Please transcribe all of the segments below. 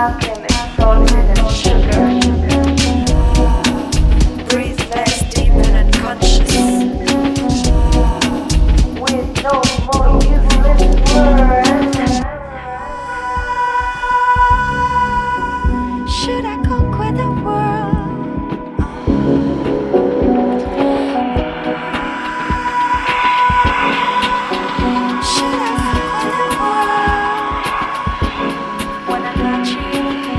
nothing is salted and sugar. Breathe less deep and unconscious. With no more useless words. Should I conquer the world? Should I conquer the world when I got you?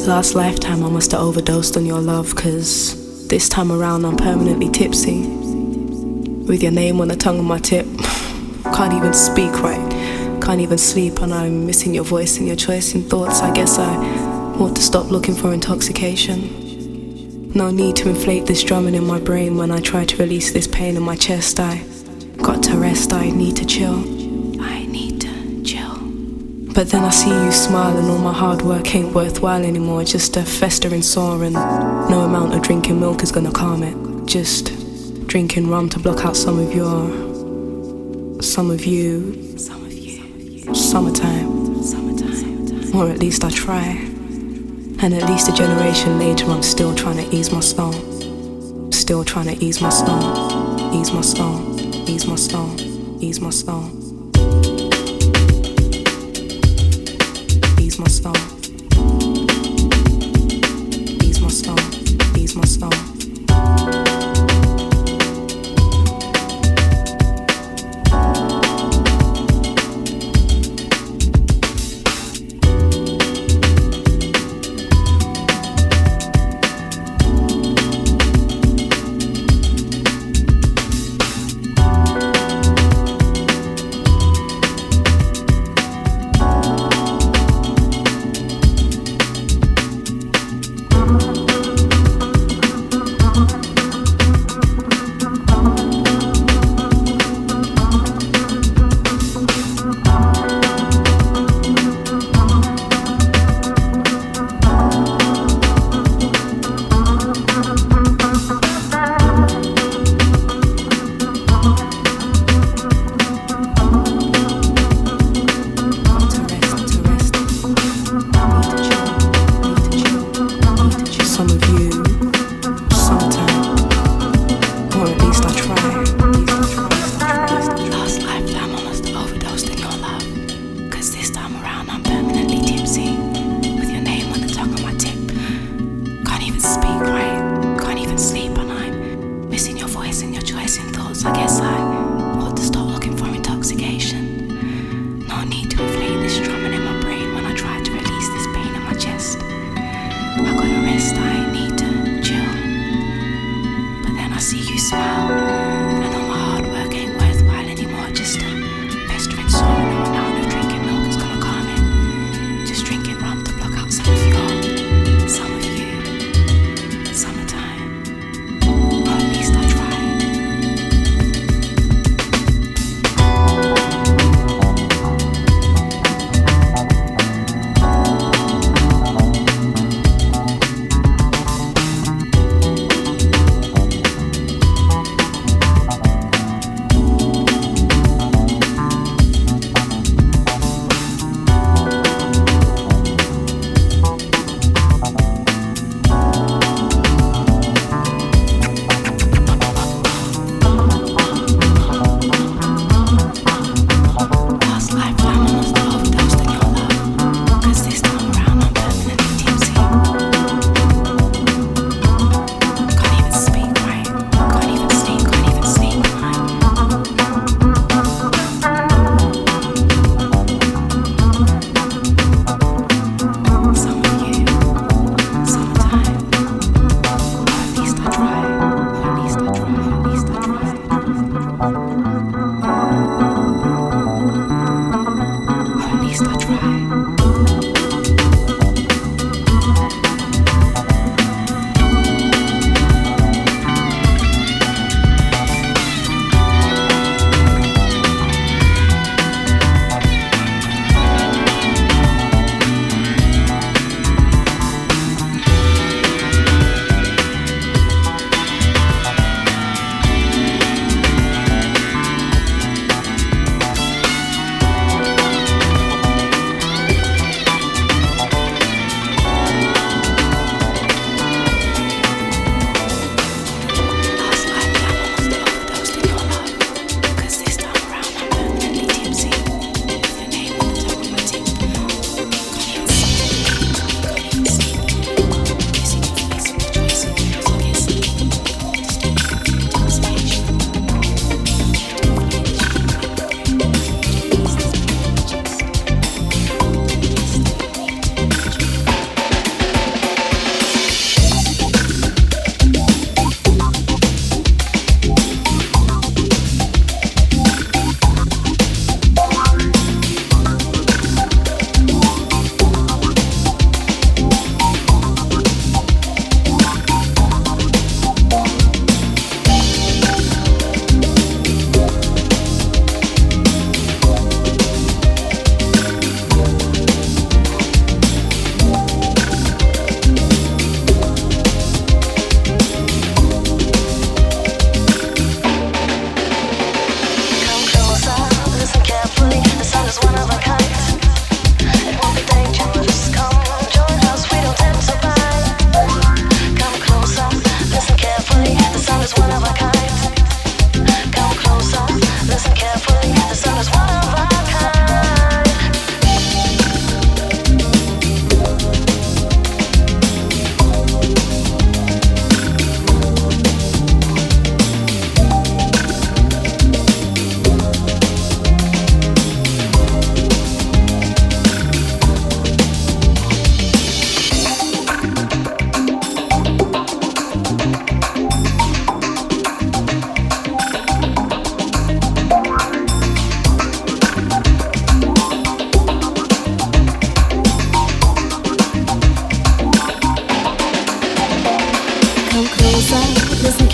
Last lifetime I must have overdosed on your love, 'cause this time around I'm permanently tipsy, with your name on the tongue of my tip. Can't even speak right, can't even sleep, and I'm missing your voice and your choice in thoughts. I guess I ought to stop looking for intoxication. No need to inflate this drumming in my brain when I try to release this pain in my chest. I got to rest, I need to chill. I need to chill. But then I see you smile and all my hard work ain't worthwhile anymore. Just a festering sore, and no amount of drinking milk is gonna calm it. Just drinking rum to block out some of you, summertime. Or at least I try. And at least a generation later I'm still trying to ease my soul. Still trying to ease my soul. Ease my soul. Ease my soul. Ease my soul. Ease my soul. Ease my soul. Ease my soul.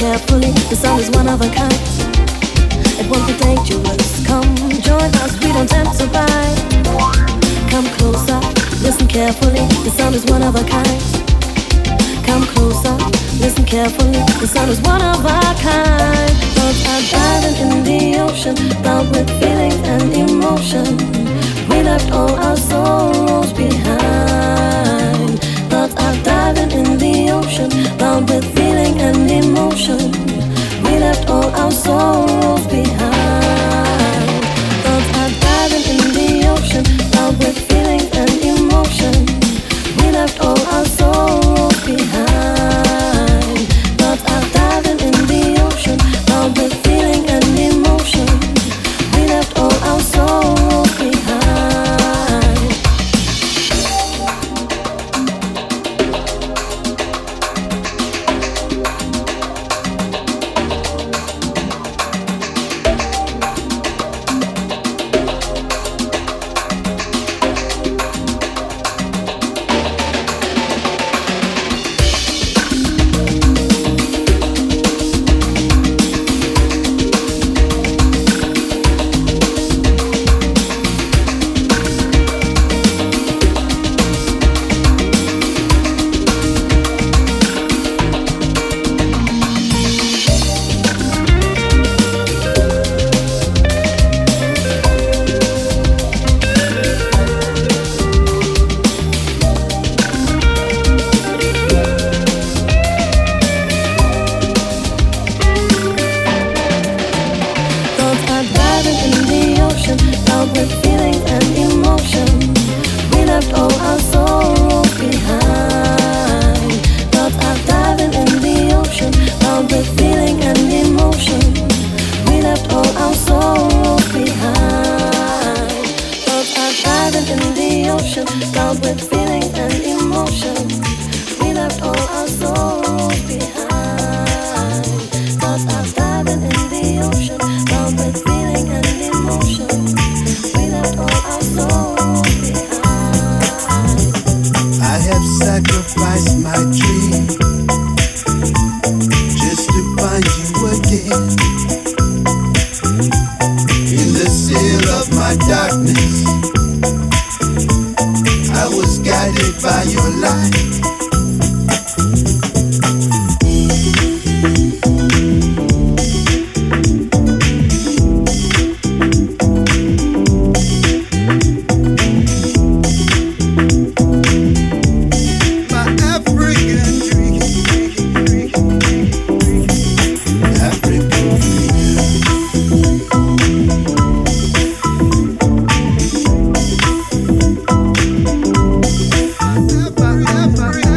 carefully, the sound is one of a kind. It won't be dangerous. Come join us, we don't tempt to buy. Come closer, listen carefully, the sound is one of a kind. Come closer, listen carefully, the sound is one of a kind. Thoughts are diving in the ocean, bound with feelings and emotion. We left all our sorrows behind. Thoughts are diving in the ocean, bound with feeling and emotion. We left all our sorrows behind. Thoughts are diving in the ocean, bound with feelings and emotion. We left all our sorrows behind. Thoughts are diving in the ocean, bound with feeling and emotion. We left all our sorrows behind. Africa.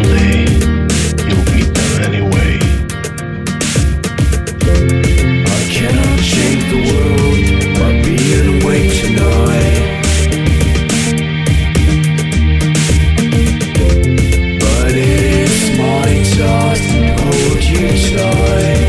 someday you'll beat them anyway. I cannot change the world by being awake tonight, but it is my task to hold you tight.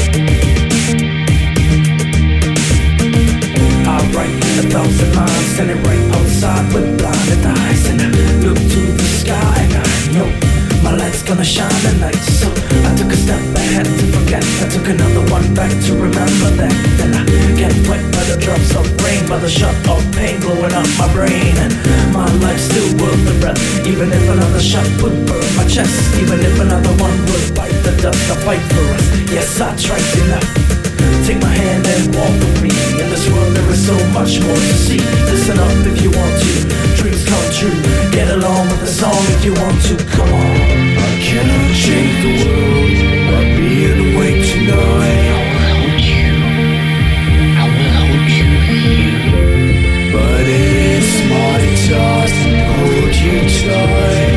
I write 1,000 lines, send it right outside with blinded eyes, and I look to the sky and I know my light's gonna shine tonight. So I took a step ahead to forget, I took another one back to remember that. Then I get wet by the drops of rain, by the shot of pain blowing up my brain, and my life's still worth the breath. Even if another shot would burn my chest, even if another one would bite the dust, I fight for us. Yes, I tried enough. Take my hand and walk with me. In this world there is so much more to see. Listen up if you want to. Dreams come true. Get along with the song if you want to. Come on. I cannot change the world by being awake tonight. I will hold you. I will hold you here. But it is my task to hold you tight.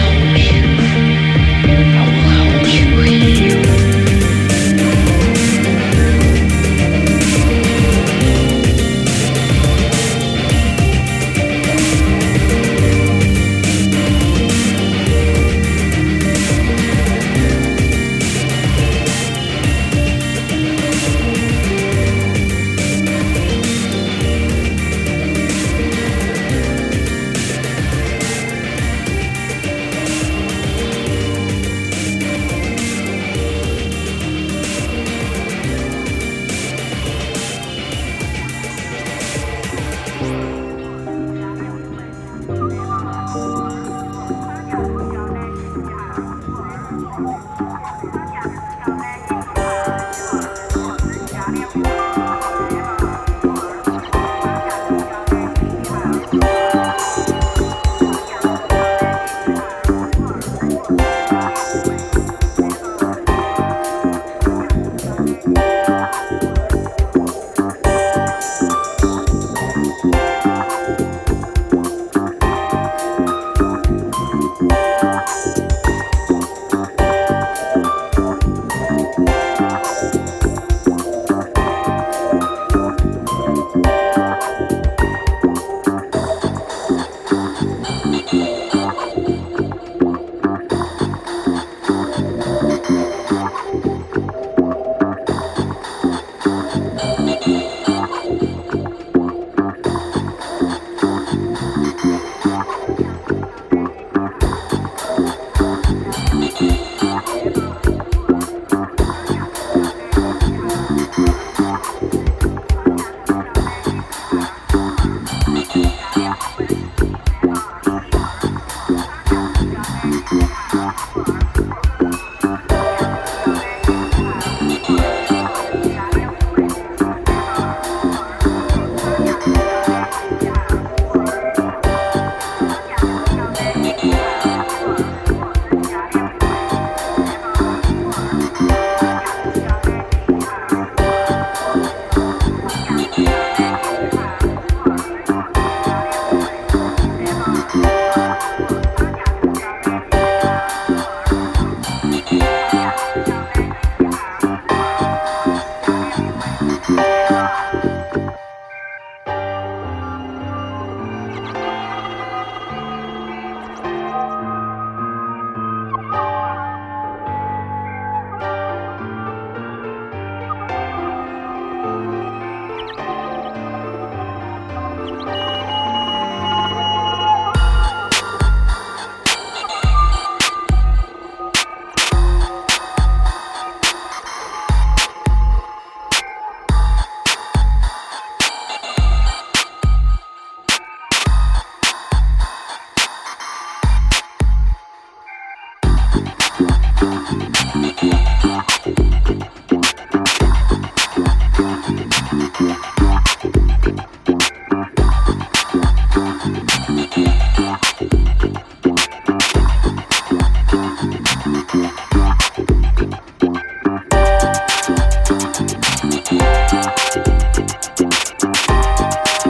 I will hold you. I will hold you here.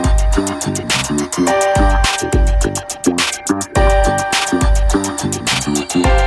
Yeah.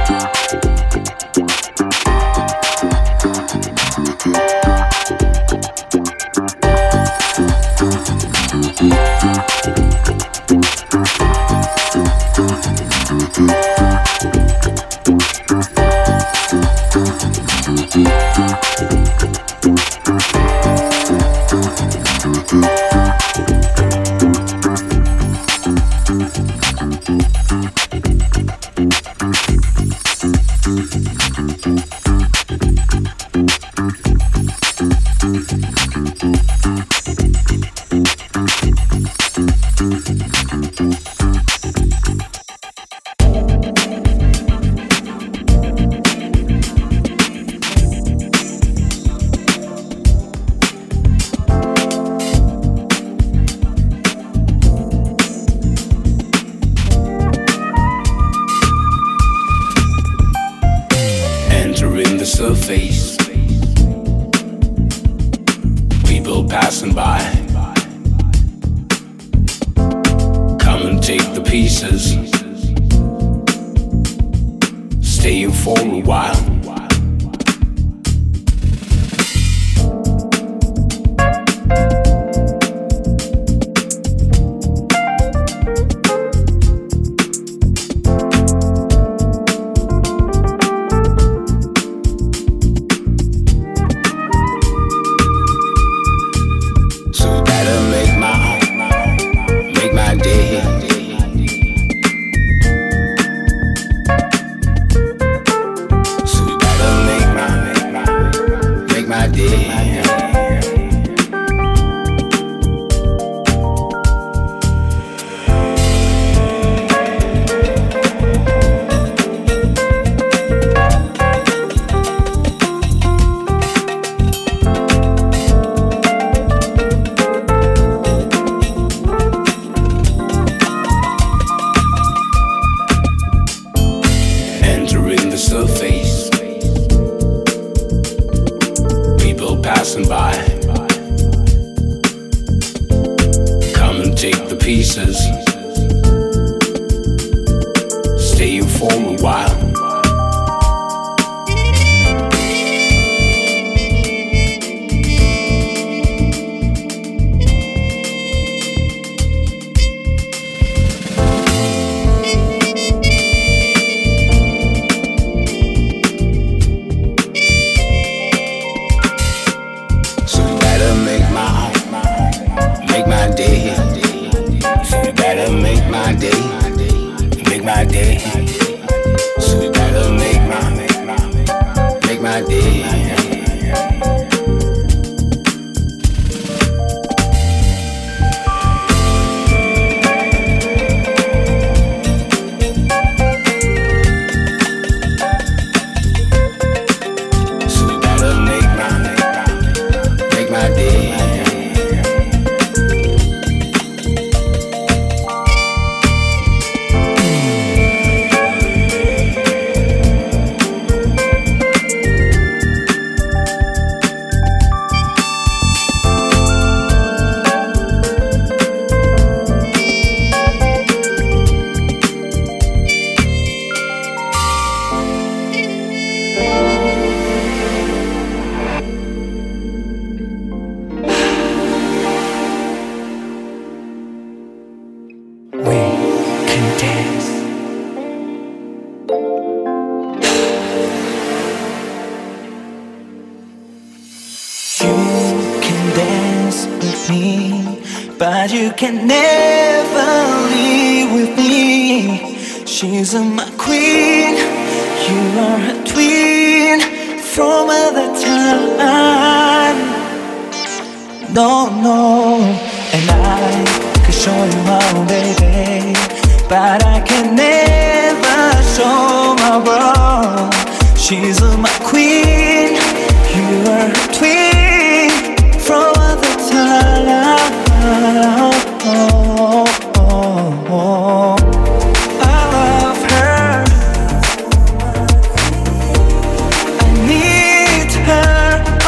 but you can never leave with me. She's my queen, you are her twin from other time. No, no, and I can show you how, baby, but I can never show my world. She's my queen, you are her twin from other time. I love her, I need her.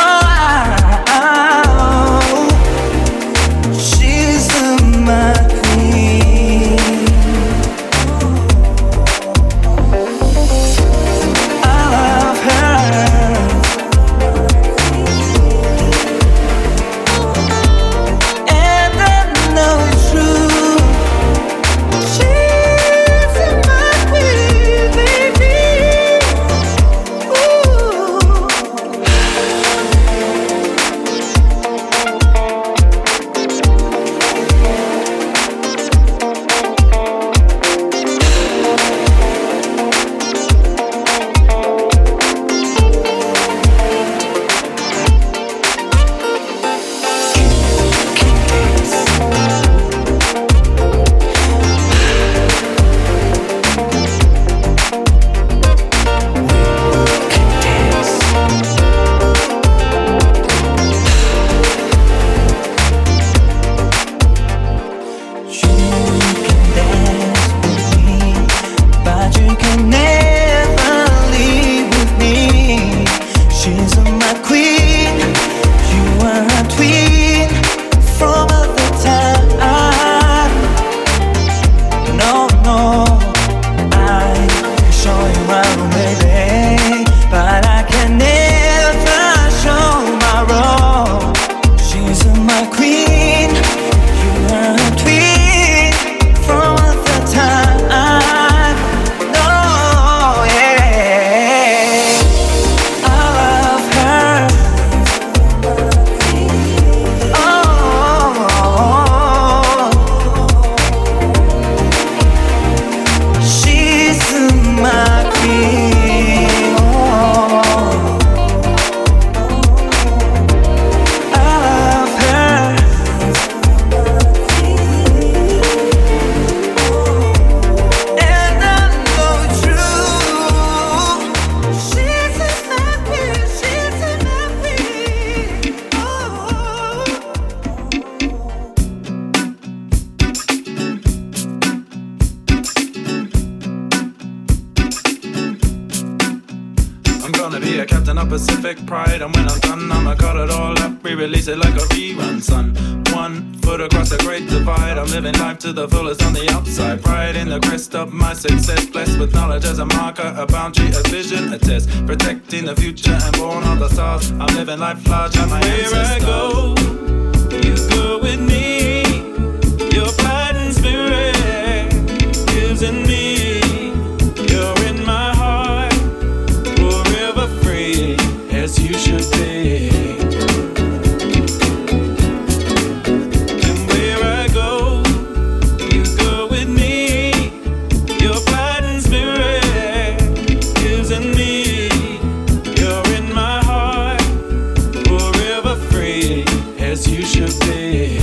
She's my queen. I'm gonna be a captain of Pacific Pride, and when I'm done, I'ma cut it all up, re-release it like a rerun, son. 1 foot across the great divide, I'm living life to the fullest on the outside. Pride in the crest of my success, blessed with knowledge as a marker, a boundary, a vision, a test. Protecting the future and born on the stars. I'm living life large like my ancestors. Where I go, you go with me. Your fighting spirit lives in me. You're in my heart, forever free, as you should be. And where I go, you go with me. Your fighting spirit lives in me. You're in my heart, forever free, as you should be.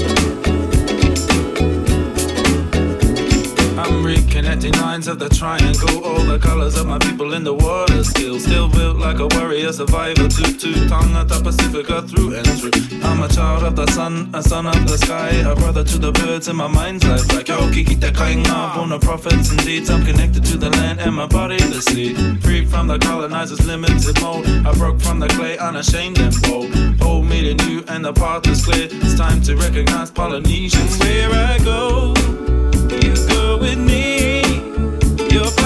I'm reconnecting lines of the triangle, all the colors of my people in the water still built like a warrior survivor, two-tongue at the Pacifica through and through. I'm a child of the sun, a son of the sky, a brother to the birds in my mind's life. Like yo, kiki te kainga, born of prophets and deeds. I'm connected to the land and my body the seed. Free from the colonizers' limited mold. I broke from the clay, unashamed and bold. Old made it new and the path is clear. It's time to recognize Polynesians. Where I go, you go with me. Your